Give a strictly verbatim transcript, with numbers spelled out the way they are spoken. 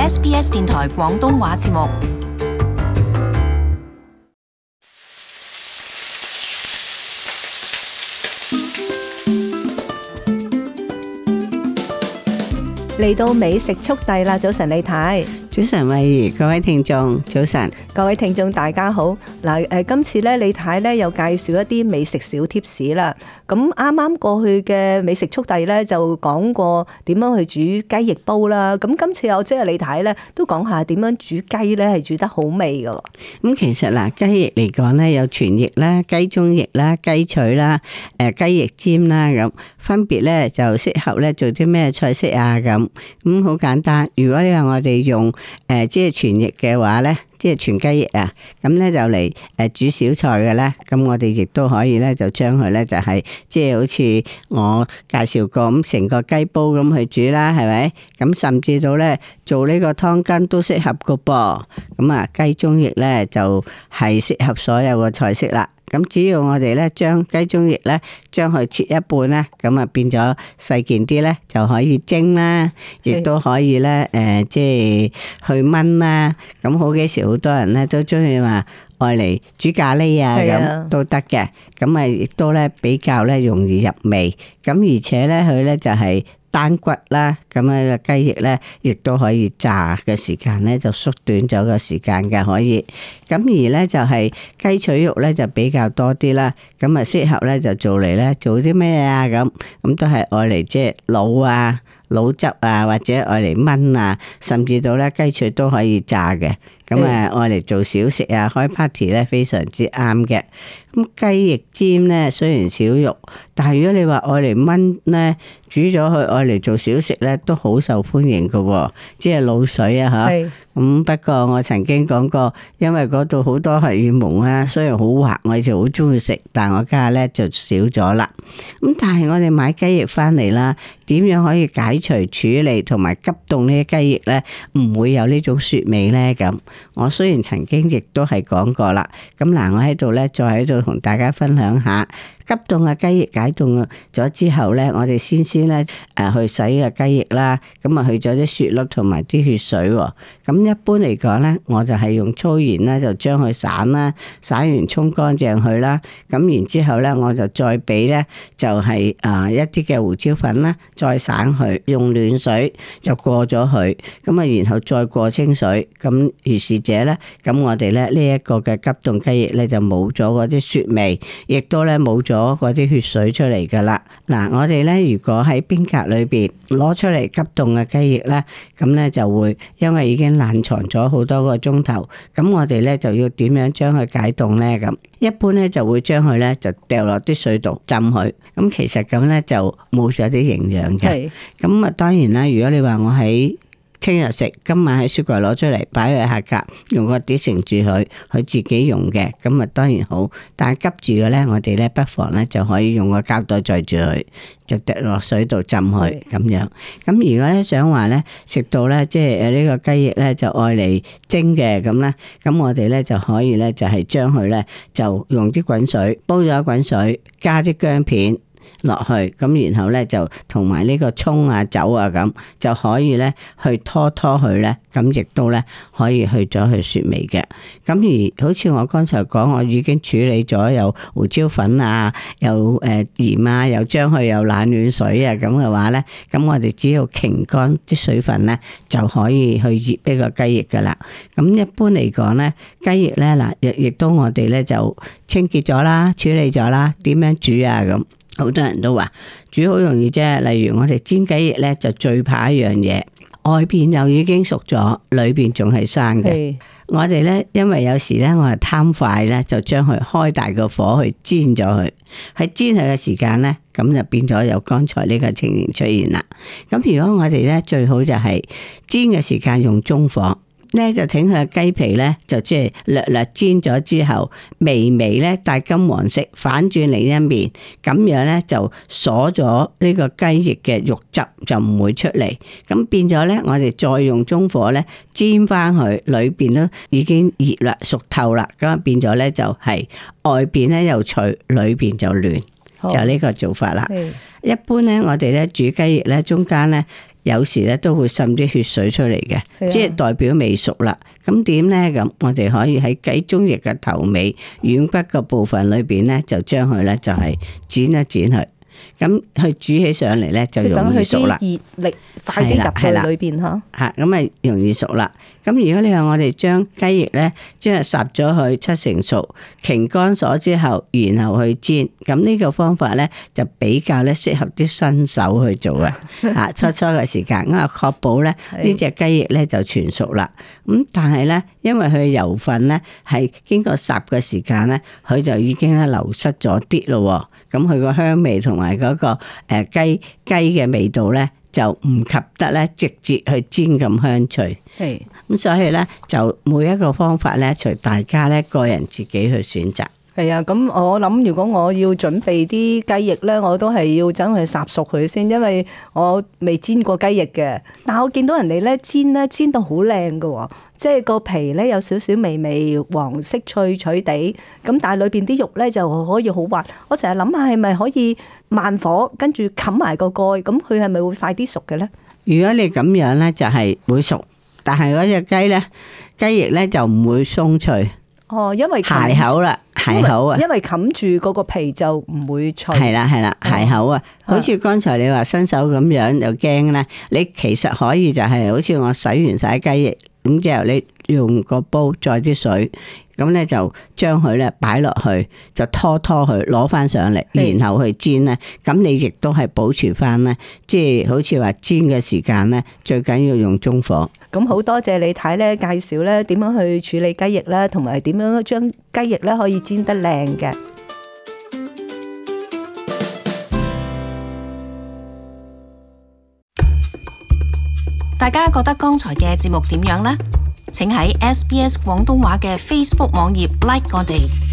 S B S 電台廣東話節目。 嚟到美食速遞啦！早晨李太， 早晨慧怡，各位聽眾早晨， 各位聽眾大家好。嗱，誒，今次咧李太咧又介紹一啲美食小貼士啦。咁啱啱過去嘅美食速遞咧就講過點樣去煮雞翼煲啦。咁今次我即係李太咧都講下點樣煮雞咧係煮得好味㗎。 咁其實嗱，雞翼嚟講咧有全翼啦、雞中翼啦、雞腿啦、誒雞翼尖啦，咁分別咧就適合咧做啲咩菜式啊咁。咁好簡單，如果你話我哋用誒即係全翼嘅話咧，即係全雞翼啊，咁咧就嚟誒煮小菜嘅咧，咁我哋亦都可以咧就將佢咧就係即係好似我介紹過咁成個雞煲咁去煮啦，係咪？咁甚至到咧做呢個湯羹都適合㗎噃。咁啊雞中翼咧就係適合所有嘅菜式啦。咁只要我哋咧將雞中翼咧將佢切一半咧，咁啊變咗細件啲咧就可以蒸啦，亦都可以咧誒即係去炆啦。咁好幾時好多人咧都中意話愛嚟煮咖喱啊咁都得嘅。咁啊亦都咧比較咧容易入味。咁而且咧佢咧就係單骨啦，咁啊個雞翼咧，亦都可以炸嘅時間咧就縮短咗個時間嘅可以。咁而咧就係雞腿肉咧就比較多啲啦，咁啊適合咧就做嚟咧做啲咩啊咁，咁都係愛嚟即係滷啊、滷汁啊，或者愛嚟炆啊，甚至到咧雞腿都可以炸嘅。咁啊愛嚟做小食啊，開 party 咧非常之啱嘅。咁雞翼尖咧雖然少肉，但係如果你話愛嚟炆咧，煮咗佢愛嚟做小食咧，都好受歡迎嘅，即係滷水啊吓。咁不過我曾經講過，因為嗰度好多荷爾蒙啊，雖然好滑，我就好中意食，但我家下咧就少咗啦。咁但係我哋買雞翼翻嚟啦，點樣可以解除處理同埋急凍呢啲雞翼咧，唔會有呢種雪味咧？咁我雖然曾經亦都係講過啦，咁嗱，我喺度咧再喺度同大家分享下。急凍嘅雞翼解凍咗之後咧，我哋先先咧誒去洗嘅雞翼啦，咁啊去咗啲雪粒同埋啲血水。咁一般嚟講咧，我就係用粗鹽咧就將佢散啦，散完沖乾淨佢啦。咁然之後咧，我就再俾咧就係啊一啲嘅胡椒粉啦，再散佢，用暖水就過咗佢。咁啊，然後再過清水。咁如是者咧，咁我哋咧呢一個嘅急凍雞翼咧就冇咗嗰啲雪味，亦都咧冇咗咗嗰啲血水出嚟噶啦。嗱，我哋咧如果喺冰格裏邊攞出嚟急凍嘅雞翼咧，咁咧就會因為已經冷藏咗好多個鐘頭，咁我哋咧就要點樣將佢解凍咧？咁一般咧就會將佢咧就掉落啲水度浸佢。咁其實咁咧就冇咗啲營養嘅。咁啊，當然啦，如果你話我喺聽日食，今晚喺雪櫃攞出嚟擺喺下格，用個碟盛住佢，佢自己用嘅，咁啊當然好。但係急住嘅咧，我哋咧不妨咧就可以用個膠袋載住佢，就滴落水度浸佢咁樣。咁如果咧想話咧食到咧即係誒呢個雞翼咧就愛嚟蒸嘅咁咧，咁我哋咧就可以咧就係將佢咧就用啲滾水煲咗滾水，加啲薑片落去，咁然後咧就同埋呢個蔥啊、酒啊咁，就可以咧去拖拖佢咧，咁亦都咧可以去咗佢雪味嘅。咁而好似我剛才講，我已經處理咗有胡椒粉啊，有誒鹽啊，又將佢有冷暖水啊咁嘅話咧，咁我哋只要擎乾啲水分咧，就可以去醃呢個雞翼噶啦。咁一般嚟講咧，雞翼咧嗱，亦亦都我哋咧就清潔咗啦，處理咗啦，點樣煮啊咁？好多人都話煮好容易啫，例如我哋煎雞翼咧就最怕一樣嘢，外邊又已經熟咗，裏邊仲係生嘅。我哋咧因為有時咧我係貪快咧，就將佢開大個火去煎咗佢，喺煎佢嘅時間咧，咁就變咗有剛才呢個情形出現啦。咁如果我哋咧最好就係煎嘅時間用中火。咧就挺佢嘅雞皮咧，就即係略略煎咗之後，微微咧帶金黃色，反轉另一面，咁樣咧就鎖咗呢個雞翼嘅肉汁就唔會出嚟。咁變咗咧，我哋再用中火咧煎翻佢，裏邊都已經熱啦，熟透啦，咁啊變咗咧就係外邊咧又脆，裏邊就嫩，就呢個做法啦。一般咧，我哋咧煮雞翼咧，中間咧。 有時咧都會滲啲血水出嚟嘅， 係啊即係代表未熟啦。咁點咧？咁我哋可以喺雞中翼嘅頭尾軟骨嘅部分裏邊咧，就將佢咧就係剪一剪佢。咁佢煮起上嚟咧就容易熟啦。 即係等佢啲熱力快啲入去裏邊嚇。 嚇，咁啊容易熟啦。咁如果你話我哋將雞翼咧，將佢烚咗佢七成熟，擎乾咗之後，然後去煎，咁呢個方法咧就比較咧適合啲新手去做啊。嚇，初初嘅時間，咁啊確保咧呢隻雞翼咧就全熟啦。咁但係咧，因為佢嘅油分咧係經過烚嘅時間咧，佢就已經咧流失咗啲咯。咁佢個香味同埋嗰個誒雞雞嘅味道咧，就唔及得咧直接去煎咁香脆。 係咁，所以咧就每一個方法咧，隨大家咧個人自己去選擇。 係啊，咁我諗如果我要準備啲雞翼咧，我都係要等佢烚熟佢先，因為我未煎過雞翼嘅。但係我見到人哋咧煎咧煎到好靚㗎，即係個皮咧有少少微微黃色脆脆地，咁但係裏邊啲肉咧就可以好滑。我成日諗下係咪可以慢火跟住冚埋個蓋，咁佢係咪會快啲熟嘅咧？ 如果你咁樣咧，就係會熟，但係嗰隻雞咧雞翼咧就唔會鬆脆。 哦，因為鞋口啦，鞋口啊， 因為冚住嗰個皮就唔會脆。 係啦係啦，鞋口啊，好似剛才你話新手咁樣又驚咧，你其實可以就係好似我洗完晒雞翼，咁之後你用個煲載啲水，咁咧就將佢咧擺落去，就拖拖佢攞翻上嚟，然後去煎咧。咁你亦都係保持翻咧，即係好似話煎嘅時間咧，最緊要用中火。 咁好多謝李太咧介紹咧點樣去處理雞翼啦，同埋點樣將雞翼咧可以煎得靚嘅。 大家覺得剛才嘅節目點樣呢？請喺 S B S 廣東話嘅 Facebook 網頁 like 我哋。